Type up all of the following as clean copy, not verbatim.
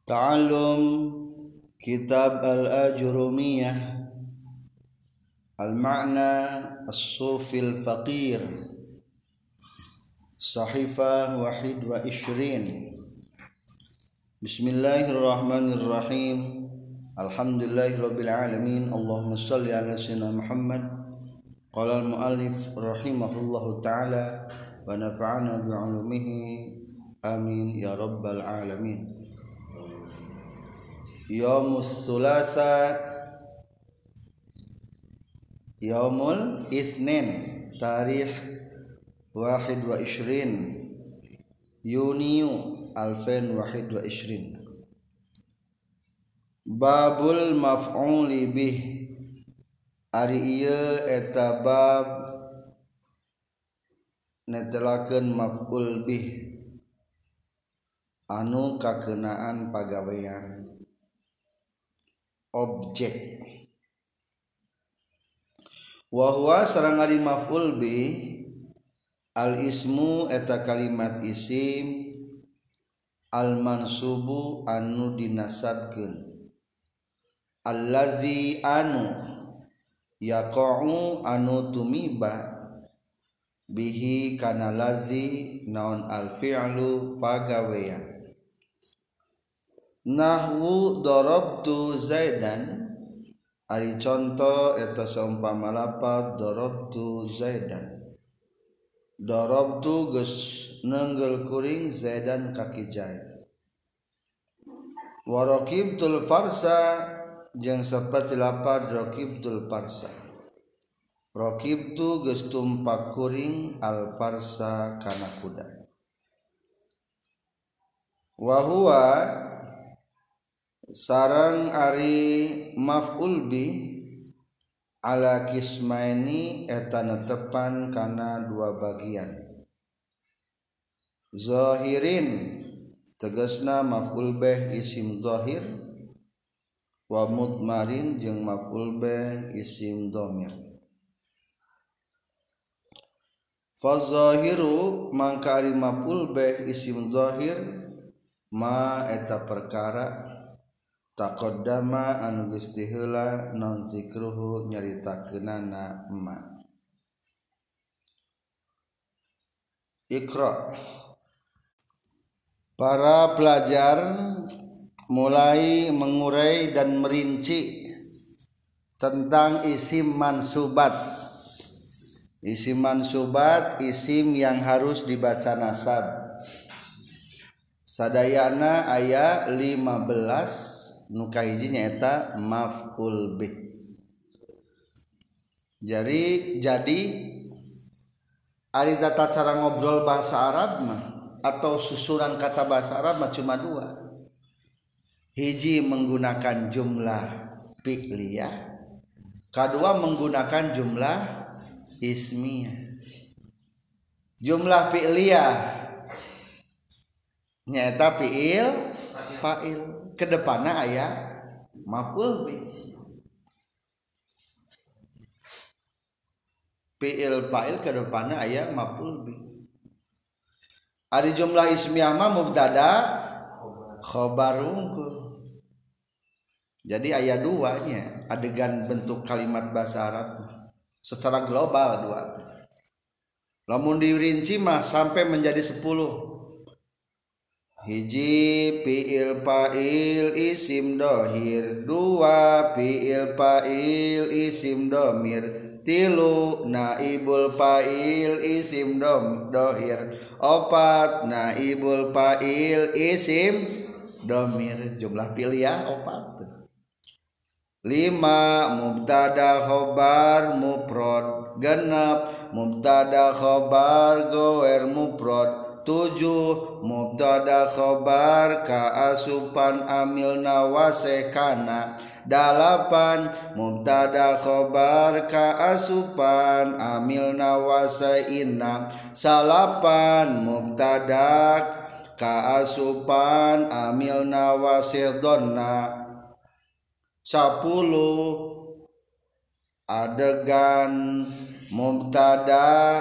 Ta'allum Kitab Al-Ajurumiyah Al-Ma'na As-Sufil Faqir Sahifah Wahid wa Ishrin. Bismillahirrahmanirrahim. Alhamdulillahirabbil alamin. Allahumma shalli ala sayyidina Muhammad. Qala al-muallif rahimahullahu ta'ala wa nafa'ana bi'ulumihi amin ya rabbal alamin. Yaumus Sulasa Yaumul Isnin Tarikh 21 Yuni 2021. Babul maf'uli bih. Ari ieu eta bab netelakeun maf'ul bih anu kakeunaan pagawean objek. Wa huwa sareng ari maf'ul bih al ismu eta kalimat isim al mansubu anu dinasabkeun allazi anu yaqa'u anu tumiba bihi kana lazi naon al fi'lu pagawean. Nahwu darabtu Zaidan, ari contoh eta saumpama lafaz darabtu Zaidan. Darabtu geus neunggel kuring Zaidan kaki Zaid. Wa raqibtul farsa jeung saperti lafaz raqibtul farsa. Raqibtu geus tumpak kuring al farsa kana kuda. Wa huwa sarang ari maf'ul bih ala kismaini eta netepan kana dua bagian. Zahirin tegasna maf'ul bih isim zahir, wa mudmarin jeung maf'ul bih isim dhamir. Fa zahiru mangka ari maf'ul bih isim zahir ma eta perkara taqaddama anu geus ti heula non zikruhu nyaritakeunana ma. Iqra. Para pelajar mulai mengurai dan merinci tentang isim mansubat. Isim mansubat isim yang harus dibaca nasab. Sadayana aya 15 nu kahijinya eta maf'ul bih. Jadi ari tata cara ngobrol bahasa Arab mah atau susunan kata bahasa Arab mah cuma dua. Hiji menggunakan jumlah fi'liyah, kedua menggunakan jumlah ismiyah. Jumlah fi'liyah nyaeta fi'il fa'il, kedepanna aya maf'ul bih. Fi'il fa'il kedepanna aya maf'ul bih. Ari jumlah ismiyah mah mubtada khobar unggul. Jadi aya dua nya adegan bentuk kalimat bahasa Arab secara global dua. Lamun dirinci mah sampai menjadi 10. Hiji fi'il fa'il isim dohir, dua fi'il fa'il isim domir, tilu naibul fa'il isim dohir, opat naibul fa'il isim domir. Jumlah fi'liyah opat. 5 mubtada khobar mufrad, genep mubtada khobar goer mufrad, 7 mubtada khobar kaasupan amilna wasekana, 8 mubtada khobar kaasupan amilna wasaina, 9 mubtada kaasupan amilna wasidonna, 10 adegan mubtada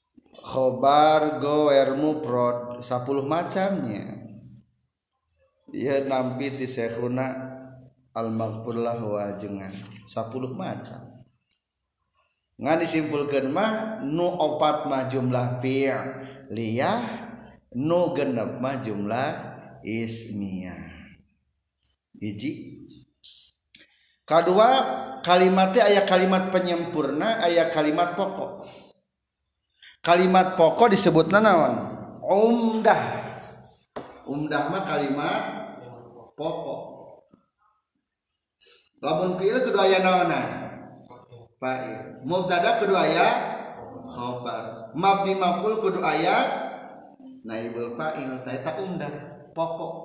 khobar goer mufrad 10 macamnya. ieu nampi ti syekhuna al-maghfur lahu ajengan 10 macam ngan disimpulkeun mah nu opat mah jumlah fi'liyah nu genep mah jumlah ismiyah hiji. Kadua kalimatnya aya kalimat penyempurna aya kalimat pokok. Kalimat pokok disebutna naon? Umdah. Umdah mah kalimat pokok. Lamun fi'il kudu aya naonna? Fa'il. Mubtada kudu aya khabar. Mabni maf'ul kudu aya naibul fa'il. Eta umdah pokok.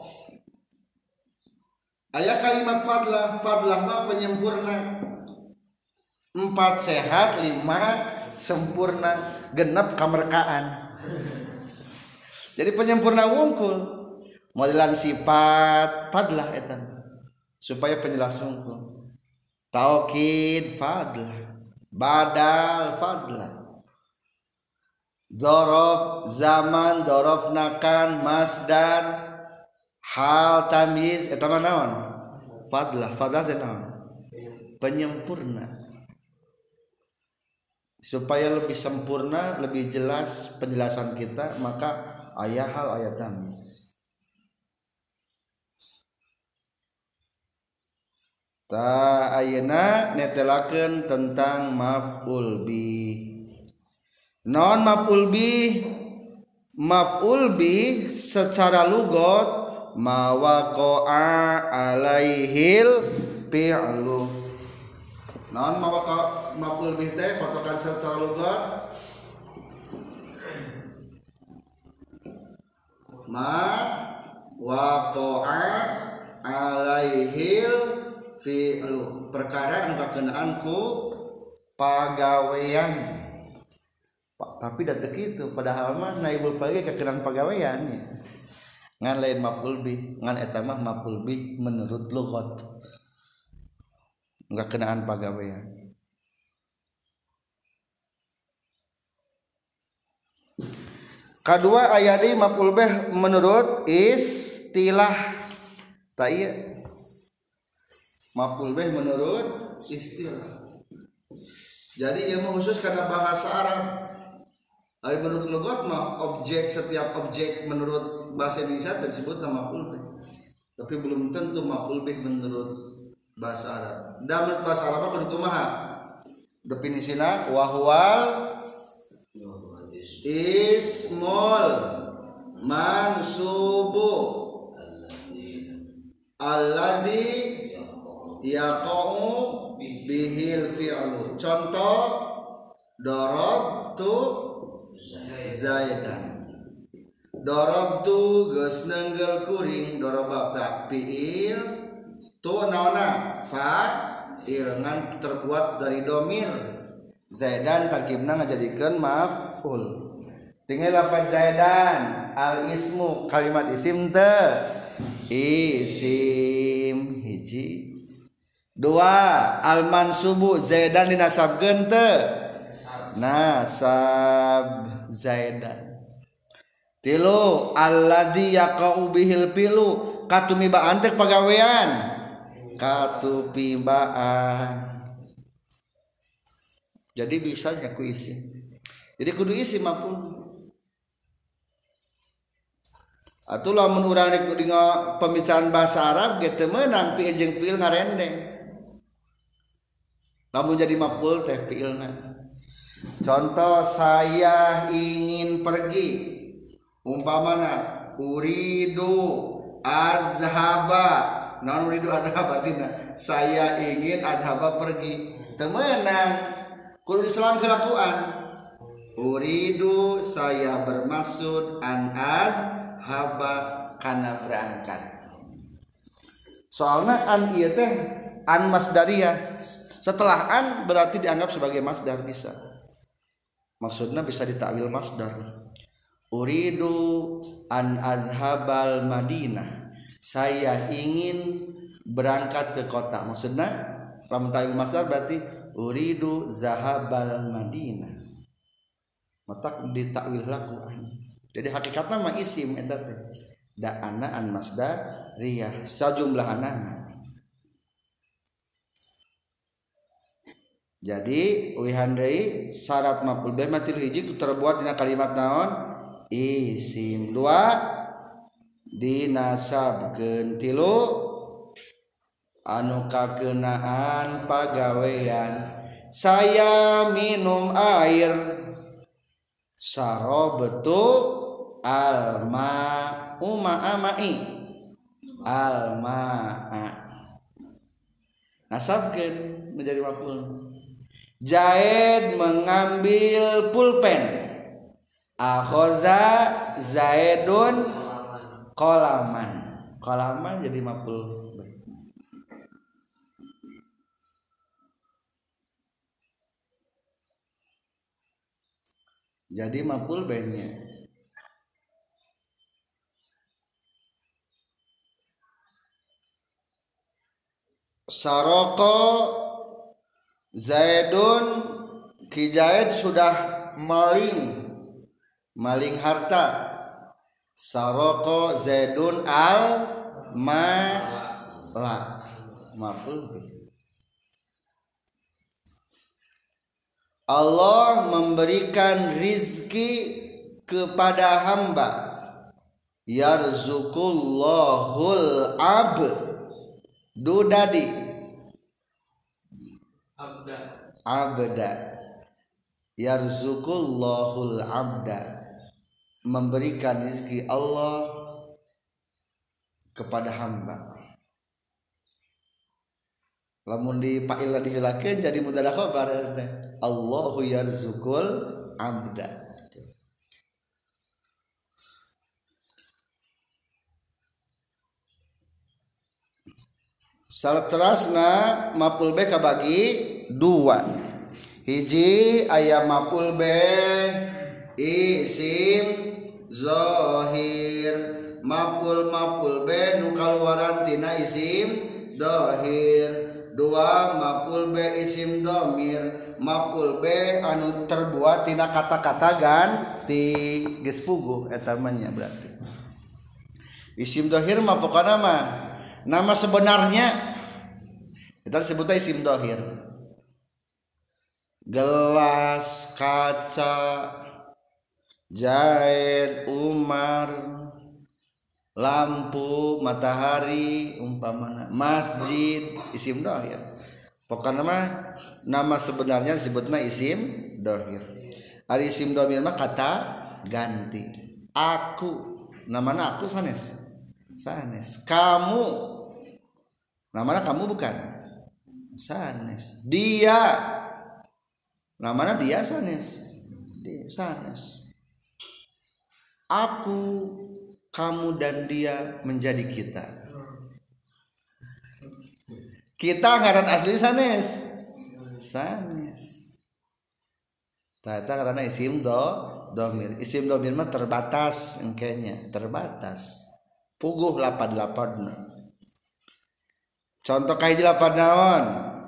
Aya kalimat fadlah. Fadlah mah penyempurna. 4 sehat 5 sempurna genep kamerkaan. Jadi penyempurna wungkul modelan sifat fadlah eta supaya penjelas wungkul. Taukid fadlah, badal fadlah, dzaraf zaman dzaraf nakan masdar hal tamyiz eta mah naon? Fadlah. Fadlah teh naon? Penyempurna. Supaya lebih sempurna, lebih jelas penjelasan kita, maka aya hal aya tamyiz. Ta ayeuna netelakeun tentang maf'ul bih. Non maf'ul bih? Maf'ul bih secara lugat ma waqa'a alaihil fi'lu. Non maf'ul bih teh patokan secara lugat ma waqa'a alaihil fi'lu, perkara anu kakenaan ku pagawean. Tapi da teu kitu, padahal mah naibul fa'il kakenaan pagawean nya. Ngan lain maf'ul bih, ngan eta mah maf'ul bih menurut lugat. Enggak kenaan pagawean. Kadua aya deui maf'ul bih menurut istilah. Ta ieu maf'ul bih menurut istilah. Jadi ieu mah khusus karena bahasa Arab. Ari menurut lugat mah objek, setiap objek menurut bahasa Indonesia tersebut nama maf'ul bih. Tapi belum tentu maf'ul bih menurut bahasa Arab. Dan menurut bahasa Arab kudu kumaha? Definisina wahwal ismul mansubu allazi yaqa'u bihil fi'lu. Contoh darabtu zaidan. Darabtu geus neunggel kuring, daraba fi'il tu naona fa'il ngan terbuat dari domir. Zaidan tarkibna ngajadikeun maf'ul. Tinggal lafaz zaidan al ismu kalimat isim teu isim hiji. Dua al mansubu zaidan dinasabkeun teu nasab zaidan. Tilu alladzi yaqau bihil fi'lu katumibaan teh pagawean katupibaan. Jadi bisa nyaku isi. Jadi kudu isi maf'ul. Atuh lamun urang rek dina pembicaraan bahasa Arab ge teu meunang fi'il jeung fi'il ngarendeng. Lamun jadi maf'ul teh fi'ilna. Contoh saya ingin pergi. Umpamana uridu azhaba. Naon uridu adhaba artina saya ingin adhaba pergi. Teu meunang. Kudu diselang kelakuan. Uridu saya bermaksud an azhaba kana berangkat. Soalna an ieu teh an masdariyah. Setelah an berarti dianggap sebagai masdar bisa. Maksudnya bisa ditakwil masdar. Uridu an azhabal Madinah. Saya ingin berangkat ke kota. Maksudnya lamun takwil masdar berarti uridu zahabal Madinah. Matak ditakwil laku. Jadi hakikatna mah isim eta teh. da'ana an masdariyah sajumlahanana. Jadi ulihan deui syarat maf'ul bih mah tilu hiji terbuat dina kalimat naon isim, dua dinasabkeun, tilu anu kakeunaan pagawean. Saya minum air, sarobtu alma'u ma'amai, alma'a nasabkeun menjadi maf'ul. Zaid mengambil pulpen, akhoza Zaidun qalaman, qalaman jadi maf'ul. Jadi maf'ul bihnya saroko Zaidun, ki Zaid sudah maling harta. Saroko Zaidun al mala, maf'ul bih. Allah memberikan rizki kepada hamba. Yarzuqullahul abdudadi abda, yarzuqullahul abda, memberikan rizki Allah kepada hamba. Lamun di fa'il diheulakeun jadi mubtada khabar teh, Allahu yarzuqul abda. Saterasna maf'ul bih kabagi dua. Hiji aya maf'ul bih isim zahir, maf'ul bih nu kaluaran tina isim zahir. Dua maf'ul bih isim dhamir, maf'ul bih anu terbuat tina kata-kata ganti geus puguh eta mah nya berarti. Isim zahir mah pokona mah nama sebenarnya kita sebutnya isim dhahir. Gelas, kaca, Zaid, Umar, lampu, matahari, umpamana masjid, isim dhahir. Pokoknya mah nama sebenarnya disebutnya isim dhahir. Ari isim dhamir mah kata ganti. Aku, namanya aku sanes. Kamu, namanya kamu bukan sanes. Dia, namanya dia sanes. Dia sanes. Aku, kamu dan dia menjadi kita. Kita ngaran asli sanes. Tata karena isim dhamir. Isim dhamir mah terbatas engkenya, terbatas. Puguh lapad-lapadna. Contoh kahiji lapad naon?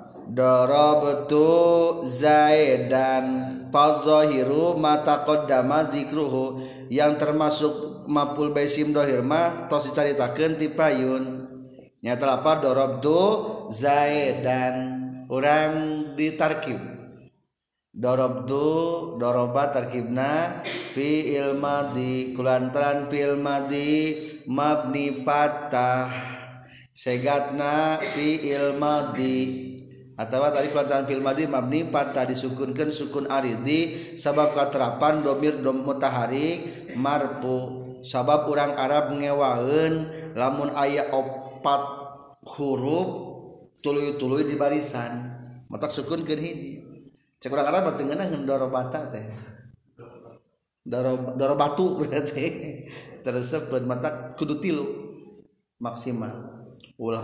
Darabtu Zaidan, fadzahiru ma taqaddama zikruhu, yang termasuk maf'ul bih isim dhahir mah tos dicaritakeun ti payun. Nyata lapad darabtu Zaidan, urang ditarkib. Darabtu, daraba tarkibna fi'il madhi, kulantaran fi'il madhi mabni patah, segatna fi'il madhi, atawa tadi kulantaran fi'il madhi mabni patah disukunkeun sukun aridi sabab katerapan domir mutaharik marfu. Sabab urang Arab ngewaeun lamun aya 4 huruf tuluy-tuluy di barisan matak sukunkeun hiji. Cek urang Arab teu ngeunah darobata teh. Darobatu berarti tersebut mata kudu 3 maksimal ulah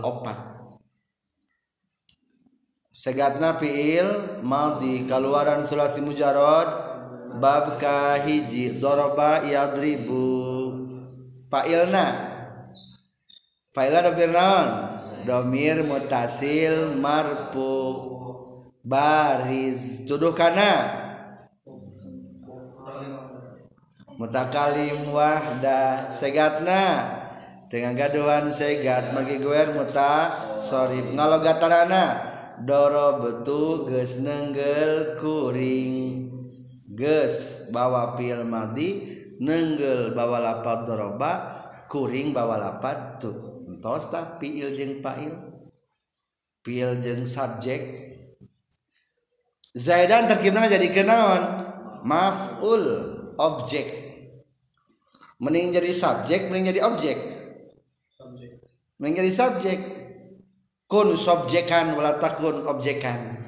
4. Segatna fiil madhi kaluaran sulasi mujarrad bab ka hiji daraba yadribu. Fa'ilna dhamir naon? Dhamir muttasil marfu. Bariz tuduh kana mutakalim wahda. Segatna tengah gaduhan segat magi guer muta sorib ngalogatarana dorobtu geus nenggel kuring geus bawa fi'il madi nenggel bawa lapad doroba kuring bawa lapad tu entos tah fi'il jeung fa'il fi'il jeung subjek Zaidan terkibna jadi kenaon maf'ul objek mending jadi subjek mending jadi objek mending jadi subjek kun subjekan wala takun objekan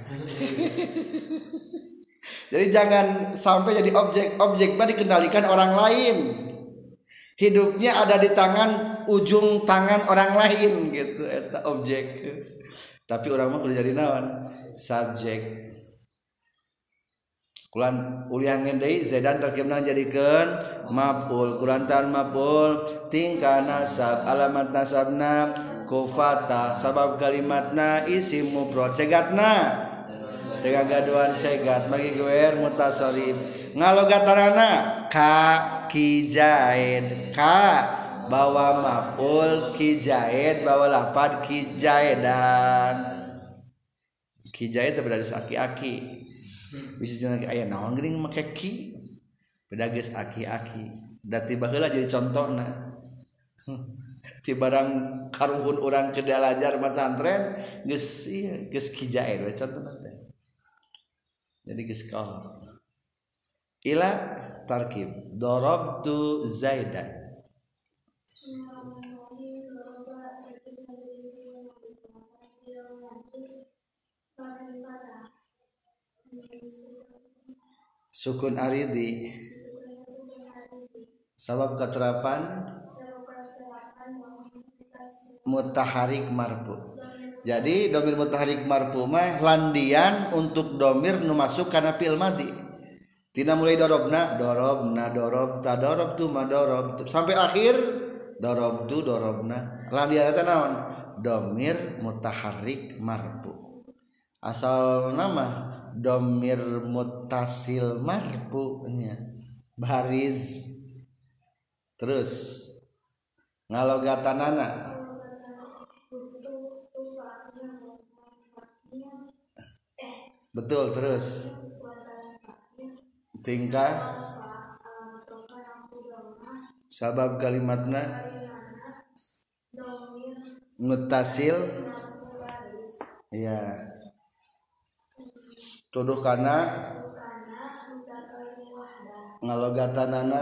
jadi jangan sampai jadi objek mah dikendalikan orang lain hidupnya ada di tangan ujung tangan orang lain gitu eta objek tapi orang mah kudu jadi naon subjek kulan uliangan deui Zaidan terkibna jadikeun maf'ul kurantan maf'ul tingkah nasab alamat nasabna kufata sabab kalimatna isim mufrad segatna tengah gaduhan segat magi guer mutasarrif ngalogatarana ka kijaid ka bawa maf'ul kijaid bawa lapad kijaidan kijaid teh beda geus aki-aki bisa jeung aya naon geuning make ki beda geus aki-aki da tiba heula jadi contona ti barang karuhun urang ke dalajar masantren geus ieu geus kijaid we contona teh jadi geus kaol ila tarkib darabtu zaidan sukun aridi sabab keterapan mutaharik marfu jadi domir mutaharik marfu mah landian untuk domir nu masuk kana fi'il madi tina mulai dorobna dorobta dorobtu madorobtu sampai akhir dorobtu dorobna landian eta naon domir mutaharik marfu asal nama domir mutasil marfu nya baris terus ngalogatanana betul terus tingkah sabab kalimatna mutasil ya tuduh kana ngalogatanana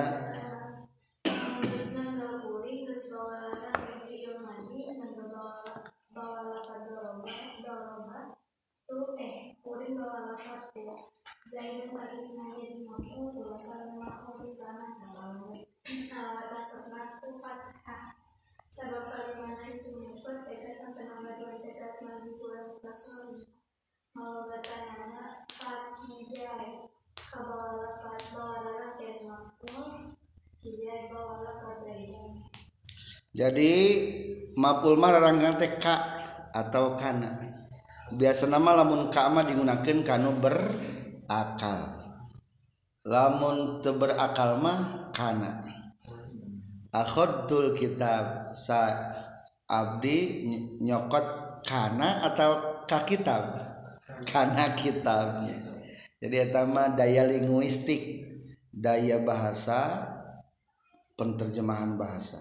sabab kalimatna isim mufrad sekat tenaga dua sekat lagi kurang kasuri ngalogatanana fakijai kabala bawala kayak maf'ul kijai bawala kajaidan jadi maf'ul mah raranggan teh ka atau kana biasa nama lamun ka mah digunakeun kanu berakal lamun teu berakal mah kana akhadtul kitab sa abdi nyokot kana atau ka kitab kana kitabnya jadi eta mah daya linguistik daya bahasa penterjemahan bahasa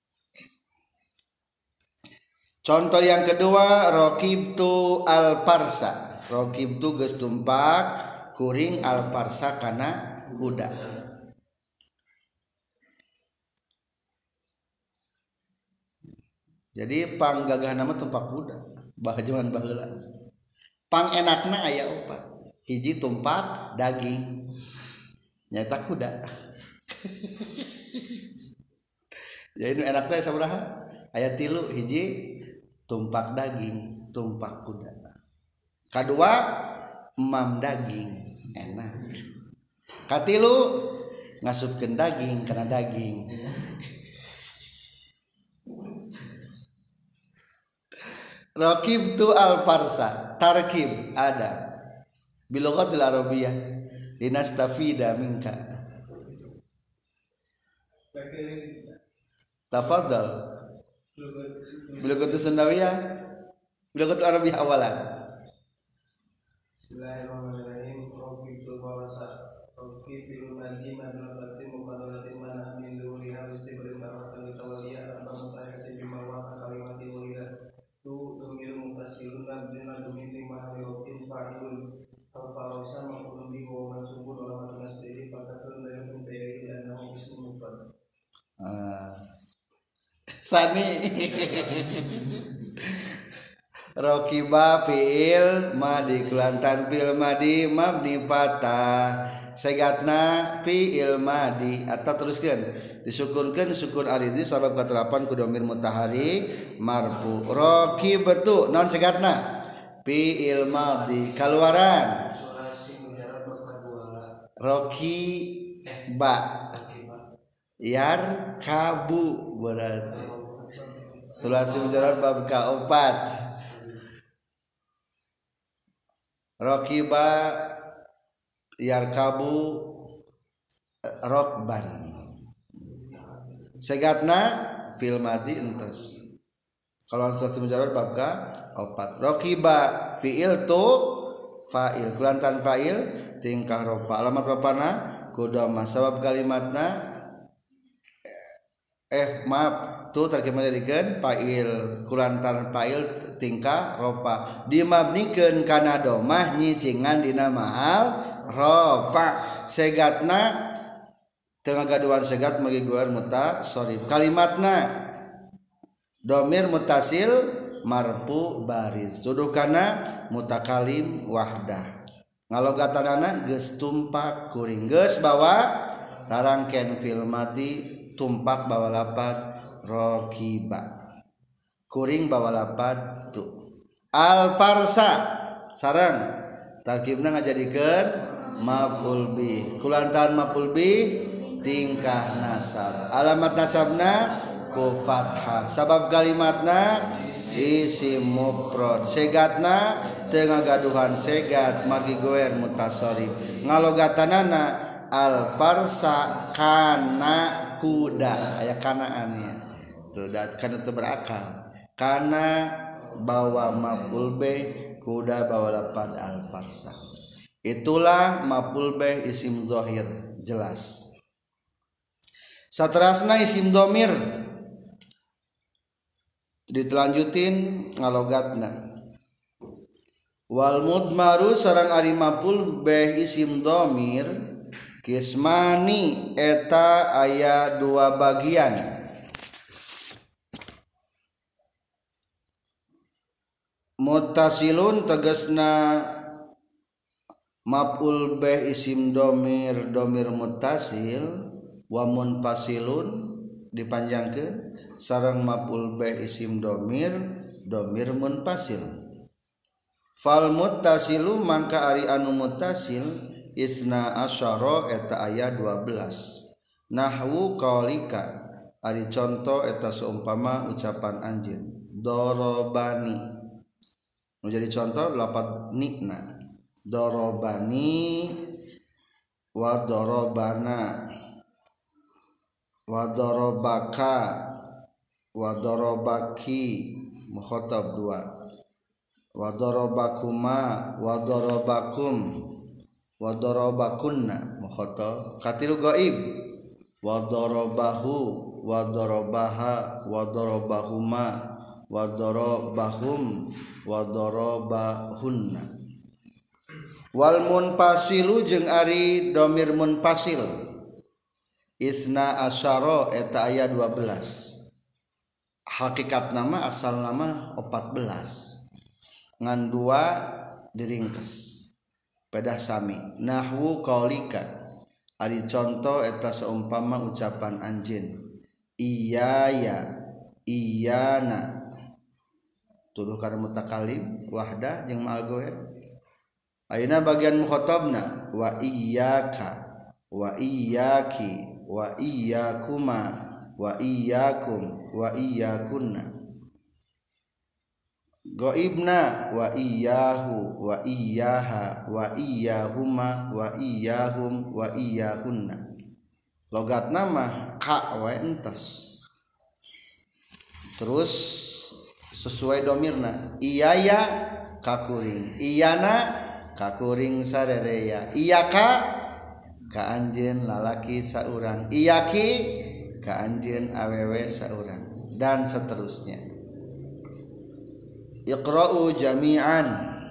contoh yang kedua raqibtu al parsa raqibtu geus tumpak kuring al parsa kana kuda jadi panggagah nama tumpak kuda bahajuan baheula pang enakna aya opat hiji tumpak daging nyata kuda jadi nu enak teh sabaraha aya 3 hiji tumpak daging tumpak kuda kadua emam daging enak katilu ngasupkeun daging kana daging Raqibtu al farsa tarkib ada bilughatil arabiyyah linastafida minka tafadhal Belagut Sundawiyah, belagut Arabi awalan. Bismillahirrahmanirrahim. Roki tu bawasa. Roki fil madi madlati mukadalatin mana min dzuriha istibrin baratan tawaliyah atau mutayati bima wa kalimati walida. Tu domir mutasilun dan bina domir lima rokin fa'ilun. Al-Farasa maqulun bi wa mansubun wa matun asdiri fakatun dari kumferi dan nahu ismu mufrad. Sani Rokiba fi'il madi kulantan fi'il madi mabni fatah segatna fi'il madi atau teruskan disukunkan sukun aridi sabab keterapan ku domir mutahari marfu rokibatu non segatna fi'il madi keluaran rokiba yar kabu berarti sulasi mujarrad bab ka-4 rokiba yarkabu rokban segatna fil madi entes kalau sulasi mujarrad bab ka-4 rokiba fi'il tu fa'il kulantan fa'il tingkah ropa alamat ropana kudama sabab kalimatna maaf tu terkemah jadikan fa'il kulantan fa'il tingkah ropa dimabnikeun kana domah nyicingan dina mahal ropa segatna tengah gaduhan segat magi guar mutasharif kalimatna domir mutasil marfu baris tuduh kana mutakalim wahdah ngalogatanana geus tumpak kuring geus bawa larangken fil mati tumpak bawa lapad rokiba kuring bawa lapad tu al farsa sarang tarkibna ngajadikeun maf'ul bih kulantan maf'ul bih tingkah nasab alamat nasabna ku fathah sabab kalimatna isim mufrad segatna teu ngagaduhan segat margi goer mutasharif ngalogatanana al farsa kana kuda aya kanaannya tuh kana teu berakal kana bawa maf'ul bih kuda bawa lapad al farsa itulah maf'ul bih isim zahir jelas saterasna isim domir ditelanjutin ngalogatna wal mudmaru sareng ari maf'ul bih isim domir kismani eta aya dua bagian muttasilun tegasna maf'ul bih isim domir muttasil wa munfasilun dipanjangkeun sareng maf'ul bih isim domir munfasil fal muttasilu mangka ari anu muttasil isna asyara eta aya 12 nahwu qaulika ari contoh eta seumpama ucapan anjeun dorobani nu jadi contoh lafaz nikna dorobani wa dorobana wa dorobaka wa dorobaki mukhatab 2 wa dorobakuma wa dorobakum wa darabakunna mukhatab katilu gaib wa darabahu wa darabaha wa darabahuma wa darabahum wa darabahunna wal munfasilu jeung ari domir munfasil isna asyara eta aya 12 hakikat nama asal nama 14 ngan 2 diringkes pedah sami nahwu qaulika ari contoh eta seumpama ucapan anjeun iyaya iyana tuduh kana mutakalim wahdah jeung ma'al goer ayeuna bagian mukhatabna wa iyyaka wa iyyaki wa iyyakuma wa iyyakum wa iyyakunna Goibna wa iyyahu wa iyyaha wa iyyahuma wa iyyahum wa iyyahunna logatna mah ka wae entos terus sesuai domirna iyaya kakuring iyana kakuring sarereya iyaka ka anjeun lalaki saurang iyaki ka anjeun awewe saurang dan seterusnya. Iqra'u jami'an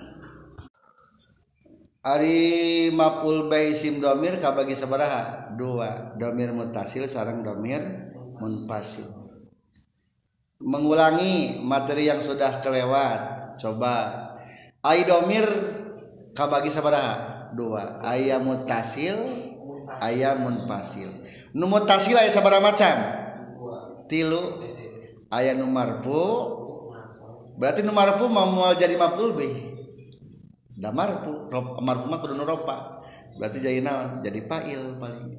ari maf'ul bai isim domir kabagi sabaraha? Dua, domir muttasil sareng domir munfasil. Mengulangi materi yang sudah kelewat. Coba ai domir kabagi sabaraha? Dua, aya muttasil aya munfasil. Nu muttasil aya sabaraha macam? Tilu. Aya nu marfu, berarti nu marfu mau jadi maf'ul bih. Da marfu mah kudu nu rofa. Berarti jadi naon? Jadi fa'il paling.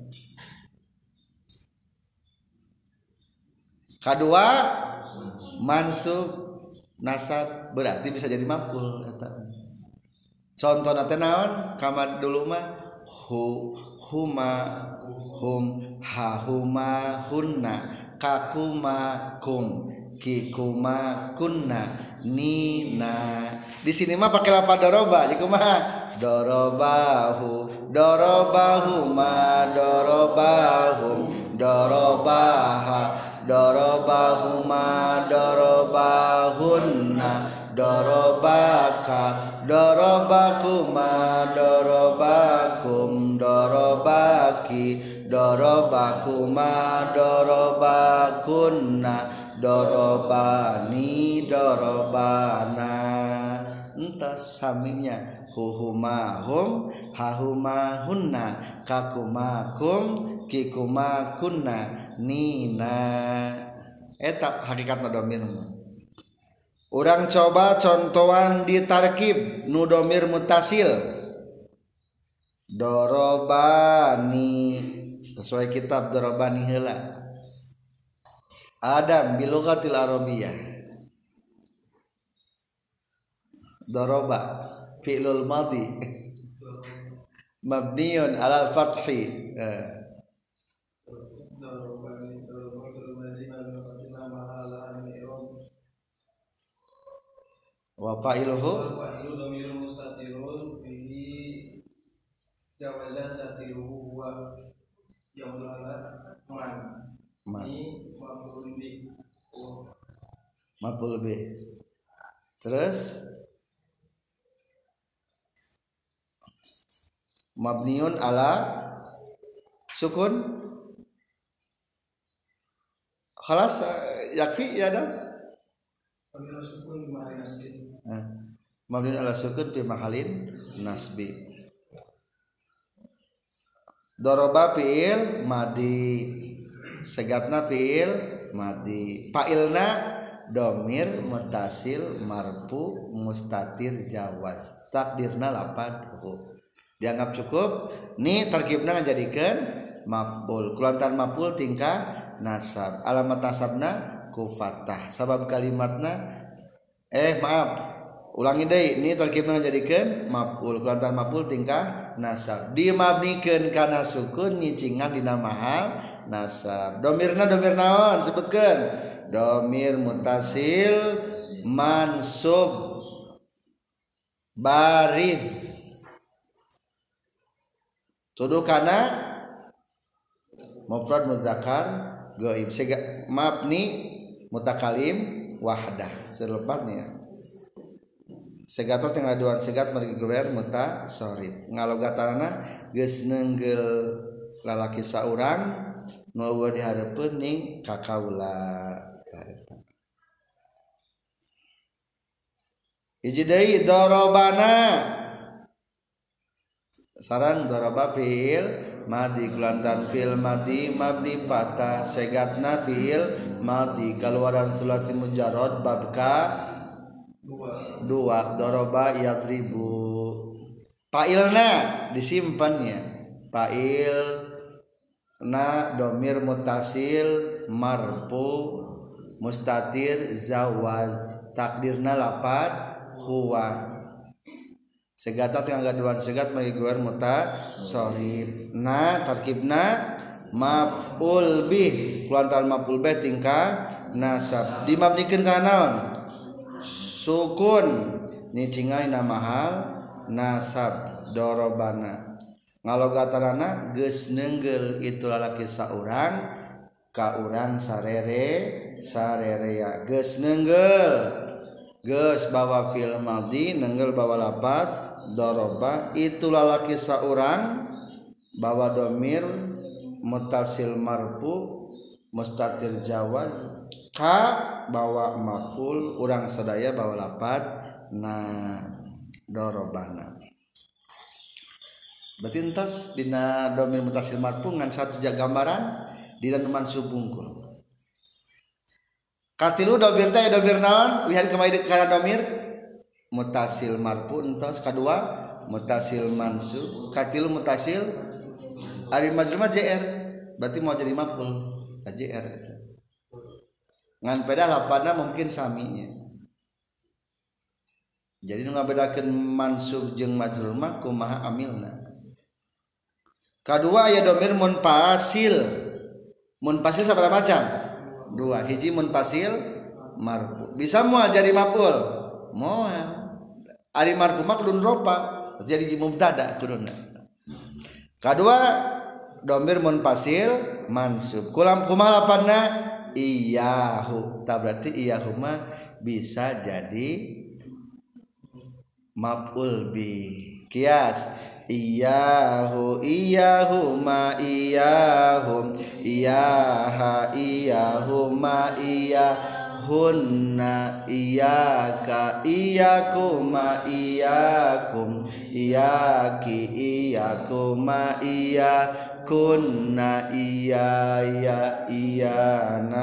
Kadua mansub nasab berarti bisa jadi maf'ul eta. Contohna teh naon? Kamad dulu mah huma hum hahuma hunna kakuma kum kikuma kunna nina. Di sini mah pakai lafaz doroba, jadi kumaha? Dorobahu, dorobahuma, dorobahum, dorobaha, dorobahuma, dorobahunna, dorobaka, dorobakuma, dorobakum, dorobaki, dorobakuma, dorobakunna, dorobani, dorobana. Entas saminya huhumahum hahumahunna kakumakum kikumakunna nina. Eta hakikatna domir. Urang coba contohan di tarkib nu domir muttasil. Dorobani sesuai kitab dorobani heula. Adam bilughatil arabiyyah. Doroba fi'lul madhi mabniun alal fathi. Wa fa'iluhu dhamirun mustatirun bihi jawazan taqdiruhu huwa yaulana man ni maf'ul bih. Terus mabniun ala sukun khalas yakfi ya dah mabniun ala sukun fi mahalin nasbi. Doroba fi'il madi segatna fi'il madi fa'ilna domir muttasil marfu mustatir jawaz takdirna lapad hu. Dianggap cukup nih tarkibna ngajadikeun maf'ul kulantan maf'ul tingkah nasab alamat nasabna ku fathah sabab kalimatna ulangi deui nih tarkibna ngajadikeun maf'ul kulantan maf'ul tingkah nasab dimabnikeun kana sukun nyicingan dina mahal nasab. Domirna domir naon sebutkeun? Domir muttasil mansub bariz tuduh kana mufrad muzakkar ghaib mabni mutakalim wahdah selepatnya segata tengah duan segat margi guber mutasarrif ngalogatana geus neunggel lalaki saurang nu eueuh dihareupeun ning kakaula ta eta. Hiji deui darabana sarang daraba fi'il madi kulantan fi'il madi mabni fatah segatna fi'il madi kaluaran sulasi mujarrad babka dua daraba yadribu fa'ilna disimpannya fa'il na domir muttasil marfu mustatir zawaz takdirna lapad huwa segata tengah gaduhan segat mari guer mutasarrif na tarkibna maf'ul bih kulantaran maf'ul bih tingkah nasab dimabnikeun ka naon sukun nyicingaina mahal nasab dorobana ngalogatarana geus neunggel itu lalaki saurang ka urang sarerea geus neunggel geus bawa fil madhi neunggel bawa lafaz doroba itu lalaki saurang bawa domir mutasil marfu mustatir jawaz ka bawa maf'ul urang sadaya bawa lafaz dorobana berarti entos dina domir mutasil marfu ngan satu jaga gambaran dina mansub bungkul katilu domir teh domir naon wihan kemaid kana domir mutasil marfu entos kadua mutasil mansub katilu mutasil ari majrur jr berarti mau jadi maf'ul jr itu ngan peda lapanna mungkin saminya jadi nu ngabedakeun mansub jeung majrur mah kumaha amilna kadua aya domir munfasil sabaraha macam dua hiji munfasil marfu bisa moal jadi maf'ul moal ari marfu mah kudun ropa jadi mubtada kuduna kadua domir munfasil mansub kumaha lapanna iyahu ta berarti iyahu mah bisa jadi maf'ul bi kias iyahu ma iyahum iyaha iyahuma iyahunna iyaka iyakuma iyakum iyaki iyakuma iyakunna iyaya iyana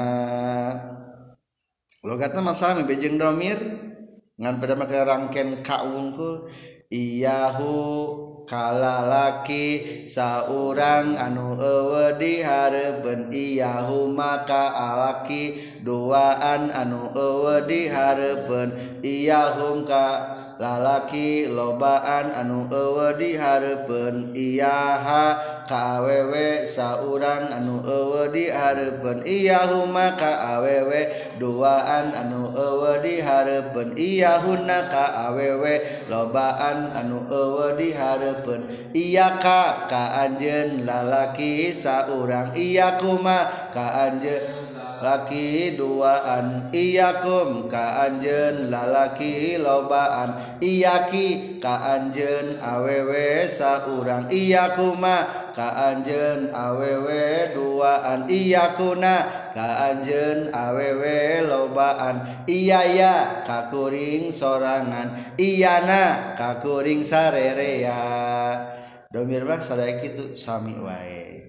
logatna masalah bejeng domir ngan pada make rangken ka wungkul iyahu kalalaki saurang anu eueuh di hareupeun iyahu maka alaki duaan anu eueuh di hareupeun iyahum ka lalaki lobaan anu eueuh di hareupeun iyaha ka awewe saurang anu eueuh di hareupeun iyahu maka awewe duaan anu eueuh di hareupeun iyahunna ka awewe lobaan anu eueuh di hareupeun iyaka ka anjeun lalaki saurang iyakuma ka anjeun laki duaan iyakum ka anjeun lalaki lobaan iyaki ka anjeun awewe saurang iyakuma ka anjeun awewe duaan iyakuna ka anjeun awewe lobaan iyaya ka kuring sorangan iyana ka kuring sarerea domir mah sadaya kitu sami wae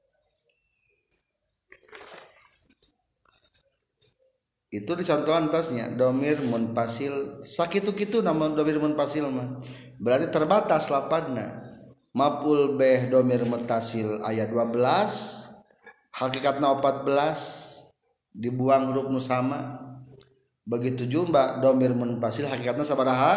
itu dicontohan tasnya domir munfasil sakitu-kitu nama domir munfasil mah berarti terbatas lapanna maf'ul bih domir muttasil ayat 12 hakikatna 14 dibuang huruf nu sama begitu jumlah domir munfasil hakikatna sabaraha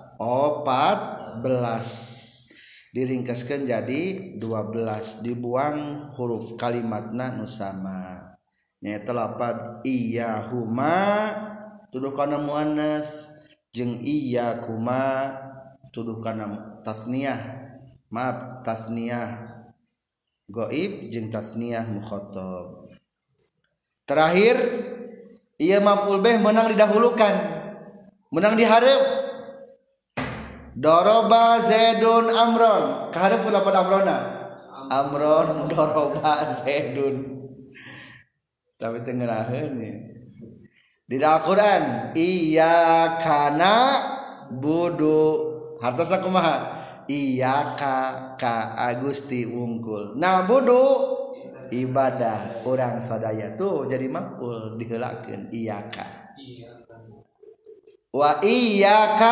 14 diringkaskeun jadi 12 dibuang huruf kalimatna nu sama nyaeta lapad iyahuma tuduh kana muannas jeung iyakuma tuduh kana tasniyah maaf tasniyah ghaib jeung tasniyah mukhatab terakhir ieu maf'ul bih menang didahulukan menang dihareup doroba zaidun amron kahareup ku lapad amrona amron doroba zaidun tapi tengeraheun ya di Al-Qur'an iyyaka budu hartosna kumaha iyyaka ka Agusti wungkul budu ibadah urang sadaya tuh jadi maf'ul diheulakeun iyyaka wa iyyaka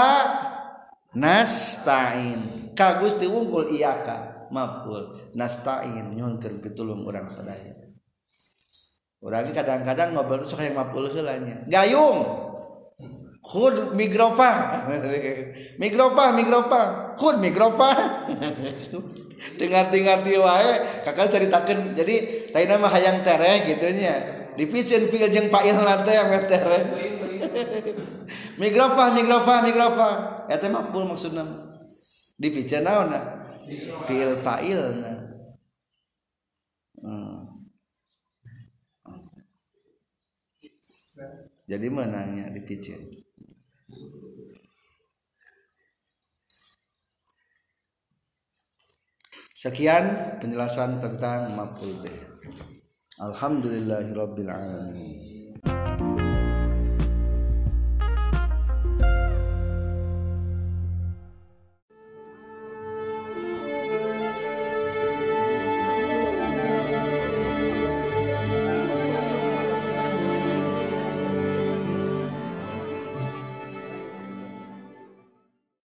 nasta'in ka Gusti wungkul iyyaka maf'ul nasta'in nyuhunkeun pitulung urang sadaya urang kadang-kadang ngobrol teh sok hayang maf'ul heula nya gayung khud migrofa khud migrofa dengar-dengar dia wae kakak ceritakan jadi tadi nama hayang tereh gitunya dipicen fil jeung fa'il teh ame tereh migrofa eta maf'ul maksudna dipicen naonna fil fa'ilna jadi menangnya dipicen. Sekian penjelasan tentang maf'ul bih. Alhamdulillahirabbil alamin.